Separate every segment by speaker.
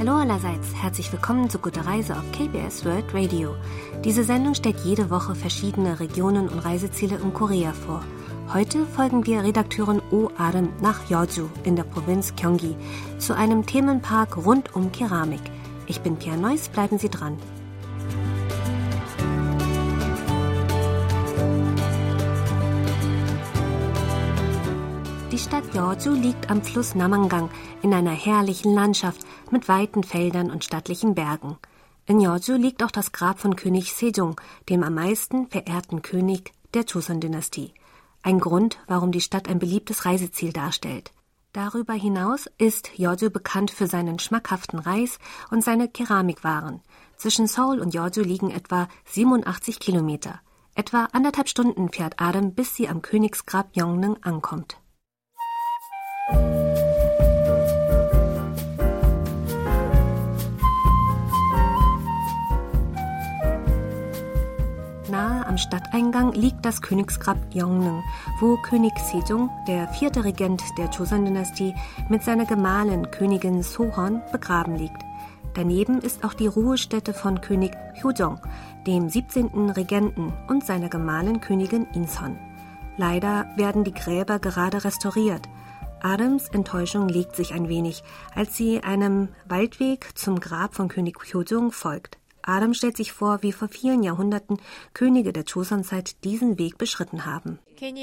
Speaker 1: Hallo allerseits, herzlich willkommen zu Gute Reise auf KBS World Radio. Diese Sendung stellt jede Woche verschiedene Regionen und Reiseziele in Korea vor. Heute folgen wir Redakteurin Oh Arim nach Yeoju in der Provinz Gyeonggi zu einem Themenpark rund um Keramik. Ich bin Pia Neuss, bleiben Sie dran. Die Stadt Yeoju liegt am Fluss Namangang in einer herrlichen Landschaft mit weiten Feldern und stattlichen Bergen. In Yeoju liegt auch das Grab von König Sejong, dem am meisten verehrten König der Joseon-Dynastie. Ein Grund, warum die Stadt ein beliebtes Reiseziel darstellt. Darüber hinaus ist Yeoju bekannt für seinen schmackhaften Reis und seine Keramikwaren. Zwischen Seoul und Yeoju liegen etwa 87 Kilometer. Etwa 1,5 Stunden fährt Arim, bis sie am Königsgrab Yongneung ankommt. Nahe am Stadteingang liegt das Königsgrab Yongneung, wo König Sejong, der 4. Regent der Joseon-Dynastie, mit seiner Gemahlin Königin Sohon begraben liegt. Daneben ist auch die Ruhestätte von König Hyojong, dem 17. Regenten, und seiner Gemahlin Königin Incheon. Leider werden die Gräber gerade restauriert. Arims Enttäuschung legt sich ein wenig, als sie einem Waldweg zum Grab von König Hyojong folgt. Arim stellt sich vor, wie vor vielen Jahrhunderten Könige der Joseon-Zeit diesen Weg beschritten haben.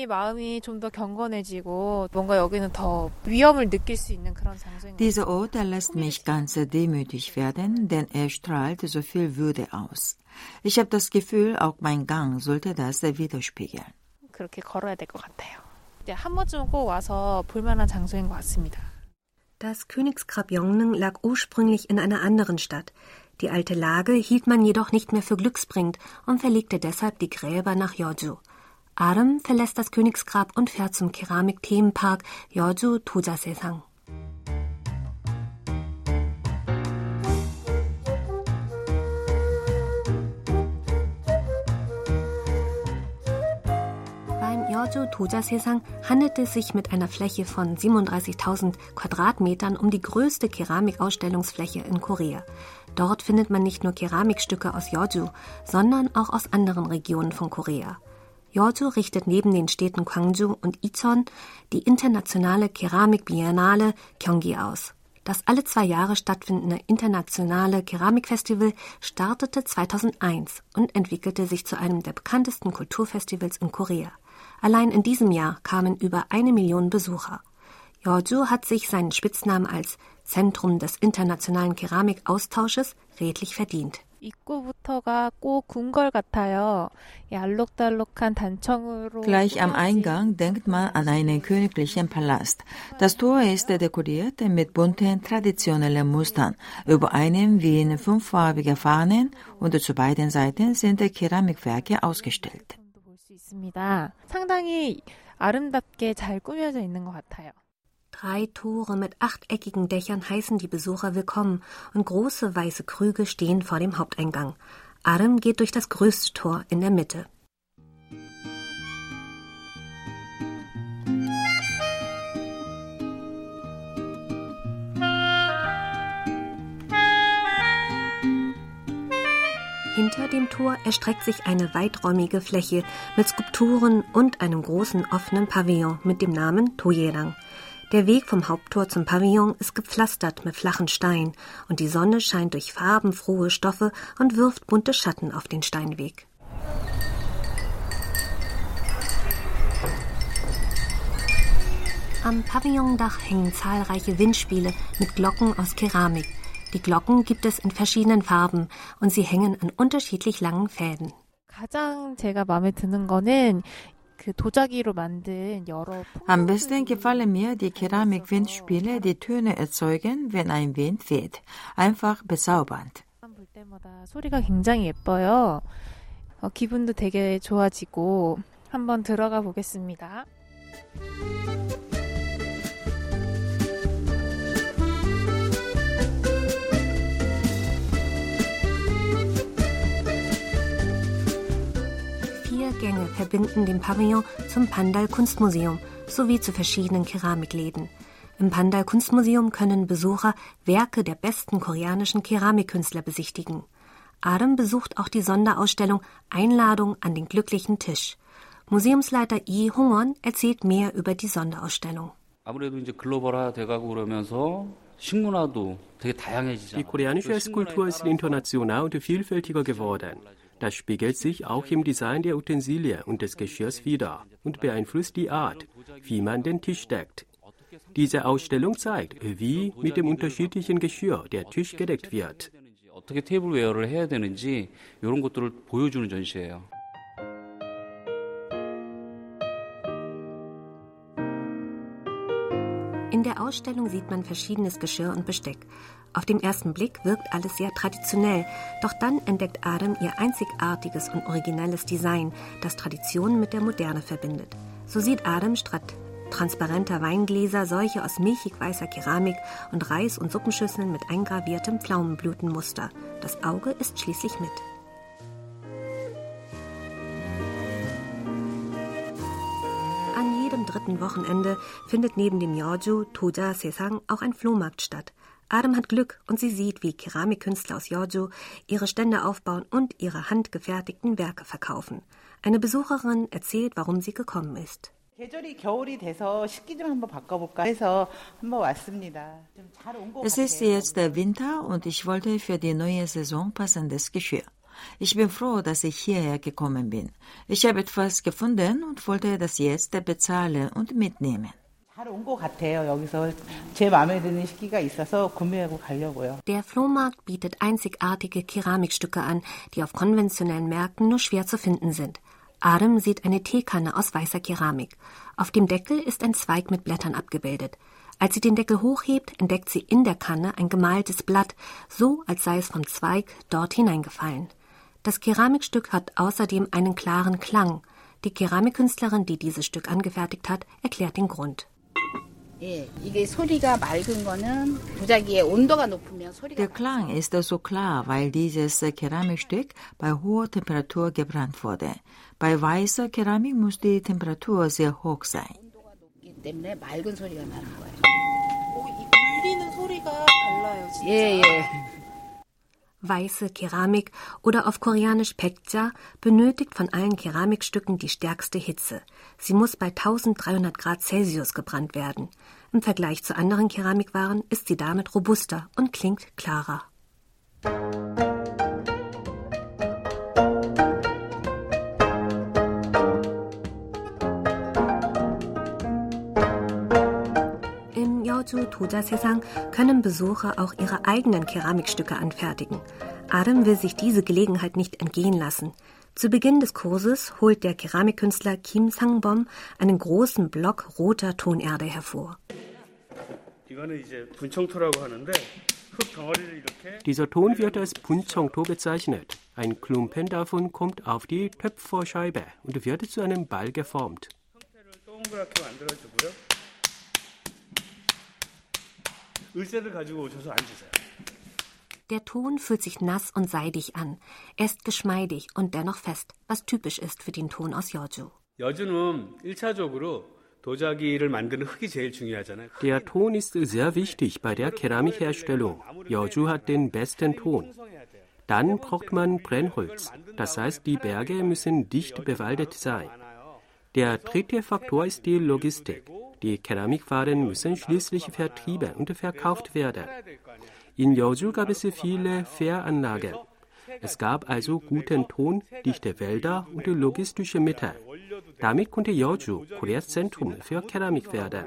Speaker 2: Dieser Ort lässt mich ganz demütig werden, denn er strahlt so viel Würde aus. Ich habe das Gefühl, auch mein Gang sollte das widerspiegeln.
Speaker 1: Das Königsgrab Yongneung lag ursprünglich in einer anderen Stadt. Die alte Lage hielt man jedoch nicht mehr für glücksbringend und verlegte deshalb die Gräber nach Yeoju. Arim verlässt das Königsgrab und fährt zum Keramik-Themenpark Yeoju Doja-Saesang. Yeoju Doja-Saesang handelt es sich mit einer Fläche von 37.000 Quadratmetern um die größte Keramikausstellungsfläche in Korea. Dort findet man nicht nur Keramikstücke aus Yeoju, sondern auch aus anderen Regionen von Korea. Yeoju richtet neben den Städten Gwangju und Incheon die internationale Keramikbiennale Gyeonggi aus. Das alle 2 Jahre stattfindende internationale Keramikfestival startete 2001 und entwickelte sich zu einem der bekanntesten Kulturfestivals in Korea. Allein in diesem Jahr kamen über 1 Million Besucher. Yeoju hat sich seinen Spitznamen als Zentrum des internationalen Keramikaustausches redlich verdient.
Speaker 2: Gleich am Eingang denkt man an einen königlichen Palast. Das Tor ist dekoriert mit bunten traditionellen Mustern. Über einem wehen 5-farbige Fahnen und zu beiden Seiten sind Keramikwerke ausgestellt.
Speaker 3: 상당히 아름답게 잘 꾸며져 있는 것 같아요.
Speaker 1: 3 Tore mit 8-eckigen Dächern heißen die Besucher willkommen und große weiße Krüge stehen vor dem Haupteingang. Arim geht durch das größte Tor in der Mitte. Hinter dem Tor erstreckt sich eine weiträumige Fläche mit Skulpturen und einem großen offenen Pavillon mit dem Namen Toyerang. Der Weg vom Haupttor zum Pavillon ist gepflastert mit flachen Steinen und die Sonne scheint durch farbenfrohe Stoffe und wirft bunte Schatten auf den Steinweg. Am Pavillondach hängen zahlreiche Windspiele mit Glocken aus Keramik. Die Glocken gibt es in verschiedenen Farben und sie hängen an unterschiedlich langen Fäden.
Speaker 3: 가장 제가 마음에 드는 거는
Speaker 2: Am besten gefallen mir die Keramik-Windspiele, die Töne erzeugen, wenn ein Wind weht. Einfach bezaubernd.
Speaker 3: 소리가 굉장히 예뻐요. 기분도 되게 좋아지고 한번 들어가 보겠습니다.
Speaker 1: Gänge verbinden den Pavillon zum Pandal Kunstmuseum sowie zu verschiedenen Keramikläden. Im Pandal Kunstmuseum können Besucher Werke der besten koreanischen Keramikkünstler besichtigen. Adam besucht auch die Sonderausstellung Einladung an den glücklichen Tisch. Museumsleiter Lee Hong-won erzählt mehr über die Sonderausstellung.
Speaker 4: Die koreanische Esskultur ist international und vielfältiger geworden. Das spiegelt sich auch im Design der Utensilien und des Geschirrs wider und beeinflusst die Art, wie man den Tisch deckt. Diese Ausstellung zeigt, wie mit dem unterschiedlichen Geschirr der Tisch gedeckt wird.
Speaker 1: In der Ausstellung sieht man verschiedenes Geschirr und Besteck. Auf den ersten Blick wirkt alles sehr traditionell, doch dann entdeckt Adam ihr einzigartiges und originelles Design, das Tradition mit der Moderne verbindet. So sieht Adam statt transparenter Weingläser solche aus milchig weißer Keramik und Reis- und Suppenschüsseln mit eingraviertem Pflaumenblütenmuster. Das Auge ist schließlich mit. An jedem dritten Wochenende findet neben dem Yeoju Toja Sesang auch ein Flohmarkt statt. Adam hat Glück und sie sieht, wie Keramikkünstler aus Yeoju ihre Stände aufbauen und ihre handgefertigten Werke verkaufen. Eine Besucherin erzählt, warum sie gekommen ist.
Speaker 2: Es ist jetzt der Winter und ich wollte für die neue Saison passendes Geschirr. Ich bin froh, dass ich hierher gekommen bin. Ich habe etwas gefunden und wollte das jetzt bezahlen und mitnehmen.
Speaker 1: Der Flohmarkt bietet einzigartige Keramikstücke an, die auf konventionellen Märkten nur schwer zu finden sind. Adam sieht eine Teekanne aus weißer Keramik. Auf dem Deckel ist ein Zweig mit Blättern abgebildet. Als sie den Deckel hochhebt, entdeckt sie in der Kanne ein gemaltes Blatt, so als sei es vom Zweig dort hineingefallen. Das Keramikstück hat außerdem einen klaren Klang. Die Keramikkünstlerin, die dieses Stück angefertigt hat, erklärt den Grund.
Speaker 2: Der Klang ist so klar, weil dieses Keramikstück bei hoher Temperatur gebrannt wurde. Bei weißer Keramik muss die Temperatur sehr hoch sein.
Speaker 1: Weiße Keramik oder auf Koreanisch Paekja benötigt von allen Keramikstücken die stärkste Hitze. Sie muss bei 1300 Grad Celsius gebrannt werden. Im Vergleich zu anderen Keramikwaren ist sie damit robuster und klingt klarer. Im Yeoju Toja Sesang können Besucher auch ihre eigenen Keramikstücke anfertigen. Adam will sich diese Gelegenheit nicht entgehen lassen. Zu Beginn des Kurses holt der Keramikkünstler Kim Sang-bom einen großen Block roter Tonerde hervor.
Speaker 4: Dieser Ton wird als Buncheongto bezeichnet. Ein Klumpen davon kommt auf die Töpferscheibe und wird zu einem Ball geformt.
Speaker 1: Der Ton fühlt sich nass und seidig an. Er ist geschmeidig und dennoch fest, was typisch ist für den Ton aus Yeoju.
Speaker 4: Der Ton ist sehr wichtig bei der Keramikherstellung. Yeoju hat den besten Ton. Dann braucht man Brennholz. Das heißt, die Berge müssen dicht bewaldet sein. Der dritte Faktor ist die Logistik. Die Keramikwaren müssen schließlich vertrieben und verkauft werden. In Yeoju gab es viele Fähranlagen. Es gab also guten Ton, dichte Wälder und logistische Mittel. Damit konnte Yeoju Koreas Zentrum für Keramik werden.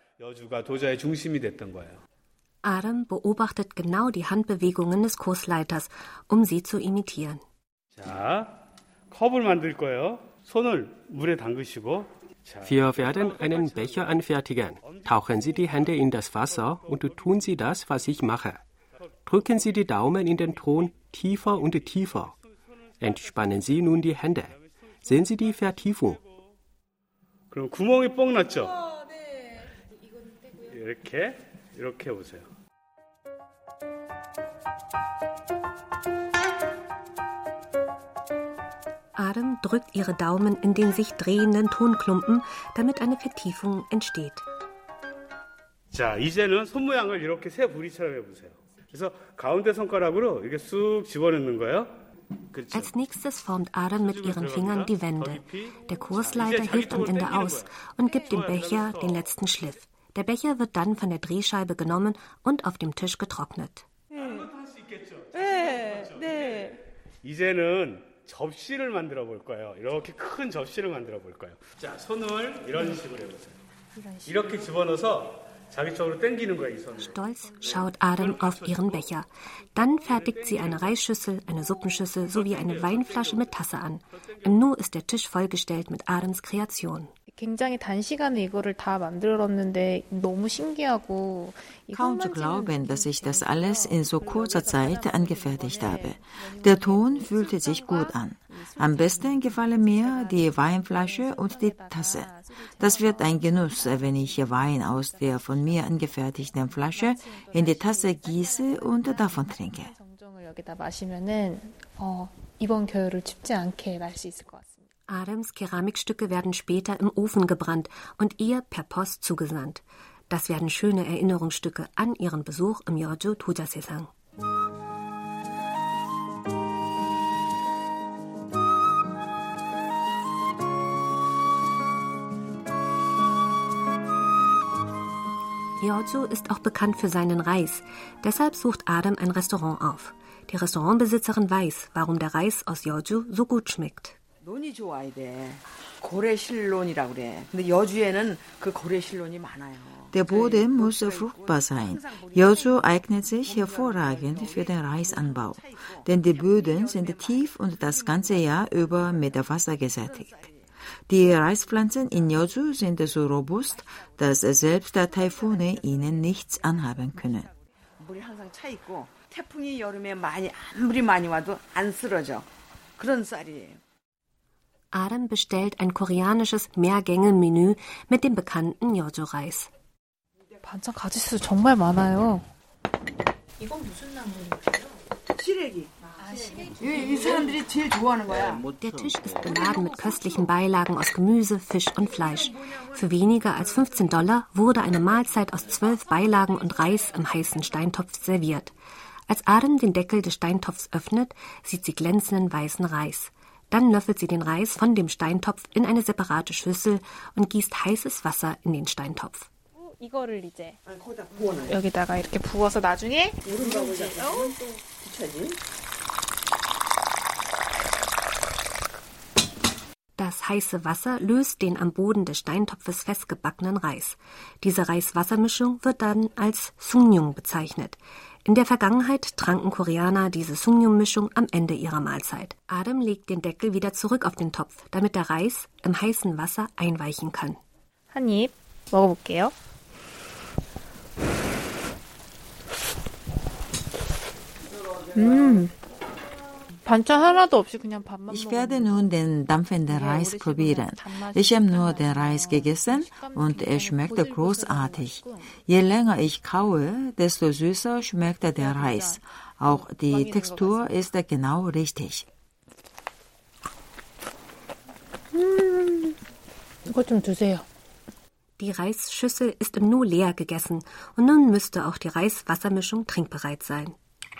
Speaker 1: Adam beobachtet genau die Handbewegungen des Kursleiters, um sie zu imitieren.
Speaker 4: Wir werden einen Becher anfertigen. Tauchen Sie die Hände in das Wasser und tun Sie das, was ich mache. Drücken Sie die Daumen in den Ton tiefer und tiefer. Entspannen Sie nun die Hände. Sehen Sie die Vertiefung.
Speaker 1: Adam drückt ihre Daumen in den sich drehenden Tonklumpen, damit eine Vertiefung entsteht.
Speaker 5: 자, 이제는 손 모양을 이렇게 새 부리처럼 해보세요. 그래서 가운데 손가락으로 이렇게 쑥 집어넣는 거예요.
Speaker 1: Als nächstes formt Adam mit ihren Fingern die Wände. Der Kursleiter hilft am Ende aus und gibt dem Becher den letzten Schliff. Der Becher wird dann von der Drehscheibe genommen und auf dem Tisch getrocknet.
Speaker 5: 이제는 접시를 만들어 볼 거예요. 이렇게 큰 접시를 만들어 볼 거예요. 자, 손을 이런 식으로 해보세요. 이렇게 집어넣어서 자기 쪽으로 당기는 거예요, 이 손을.
Speaker 1: Stolz schaut Adam auf ihren Becher. Dann fertigt sie eine Reisschüssel, eine Suppenschüssel sowie eine Weinflasche mit Tasse an. Im Nu ist der Tisch vollgestellt mit Adams Kreation.
Speaker 3: 굉장히 단시간에 이거를 다 만들었는데 너무 신기하고
Speaker 2: Kaum zu glauben, dass ich das alles in so kurzer Zeit angefertigt habe. Der Ton fühlte sich gut an. Am besten gefallen mir die Weinflasche und die Tasse. Das wird ein Genuss, wenn ich Wein aus der von mir angefertigten Flasche in die Tasse gieße und davon trinke.
Speaker 3: 정정을 여기다 마시면은 이번 겨울을 춥지 않게 날 수 있을 것 같습니다.
Speaker 1: Adams Keramikstücke werden später im Ofen gebrannt und ihr per Post zugesandt. Das werden schöne Erinnerungsstücke an ihren Besuch im Yeoju Tuja-Sesang. Yeoju ist auch bekannt für seinen Reis. Deshalb sucht Adam ein Restaurant auf. Die Restaurantbesitzerin weiß, warum der Reis aus Yeoju so gut schmeckt.
Speaker 6: 논이 좋아야 돼. 고래실론이라고 그래. 근데 여주에는 그 고래실론이 많아요.
Speaker 2: Der Boden muss fruchtbar sein. Yeoju eignet sich hervorragend für den Reisanbau, denn die Böden sind tief und das ganze Jahr über mit Wasser gesättigt. Die Reispflanzen in Yeoju sind so robust, dass selbst Taifune ihnen nichts anhaben können.
Speaker 6: 물이 항상 차 있고 태풍이 여름에 아무리 많이 와도 안 쓰러져. 그런 쌀이에요.
Speaker 1: Adam bestellt ein koreanisches Mehrgänge-Menü mit dem bekannten Yeoju-Reis.
Speaker 3: 반찬 가짓수 정말 많아요.
Speaker 1: 이건 무슨 나물인가요?
Speaker 6: 시래기. 이 사람들이 제일 좋아하는 거야.
Speaker 1: Der Tisch ist beladen mit köstlichen Beilagen aus Gemüse, Fisch und Fleisch. Für weniger als $15 wurde eine Mahlzeit aus 12 Beilagen und Reis im heißen Steintopf serviert. Als Adam den Deckel des Steintopfs öffnet, sieht sie glänzenden weißen Reis. Dann löffelt sie den Reis von dem Steintopf in eine separate Schüssel und gießt heißes Wasser in den Steintopf.
Speaker 3: 이거를 이제 여기다가 이렇게 부어서 나중에
Speaker 1: Das heiße Wasser löst den am Boden des Steintopfes festgebackenen Reis. Diese Reis-Wasser-Mischung wird dann als Sungnyung bezeichnet. In der Vergangenheit tranken Koreaner diese Sungnyung-Mischung am Ende ihrer Mahlzeit. Adam legt den Deckel wieder zurück auf den Topf, damit der Reis im heißen Wasser einweichen kann.
Speaker 3: 한 입 먹어볼게요. 반찬 하나도 없이 그냥 밥만
Speaker 2: Ich werde nun den dampfenden Reis probieren. Ich habe nur den Reis gegessen und er schmeckt großartig. Je länger ich kaue, desto süßer schmeckt der Reis. Auch die Textur ist genau richtig.
Speaker 3: 이거 좀 드세요.
Speaker 1: Die Reisschüssel ist im Nu leer gegessen und nun müsste auch die Reis-Wassermischung trinkbereit sein.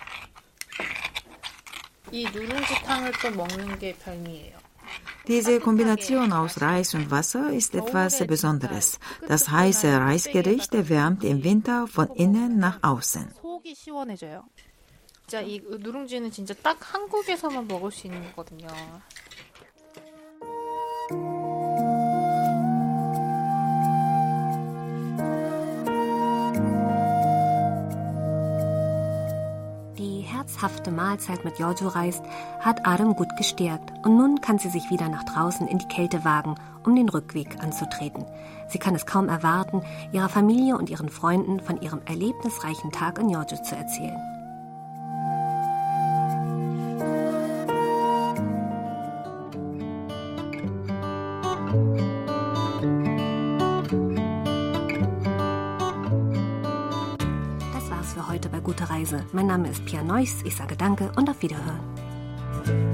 Speaker 3: 이 누룽지탕을 또 먹는 게 별미예요.
Speaker 2: Diese Kombination aus Reis und Wasser ist etwas Besonderes. Das heiße Reisgericht wärmt im Winter von innen nach außen.
Speaker 3: 속이 시원해져요. 진짜 이 누룽지는 진짜 딱 한국에서만 먹을 수 있는 거거든요.
Speaker 1: Die herzhafte Mahlzeit mit Yeoju-Reis hat Adam gut gestärkt und nun kann sie sich wieder nach draußen in die Kälte wagen, um den Rückweg anzutreten. Sie kann es kaum erwarten, ihrer Familie und ihren Freunden von ihrem erlebnisreichen Tag in Yeoju zu erzählen. Das war's für heute bei Gute Reise. Mein Name ist Pia Neuss. Ich sage Danke und auf Wiederhören.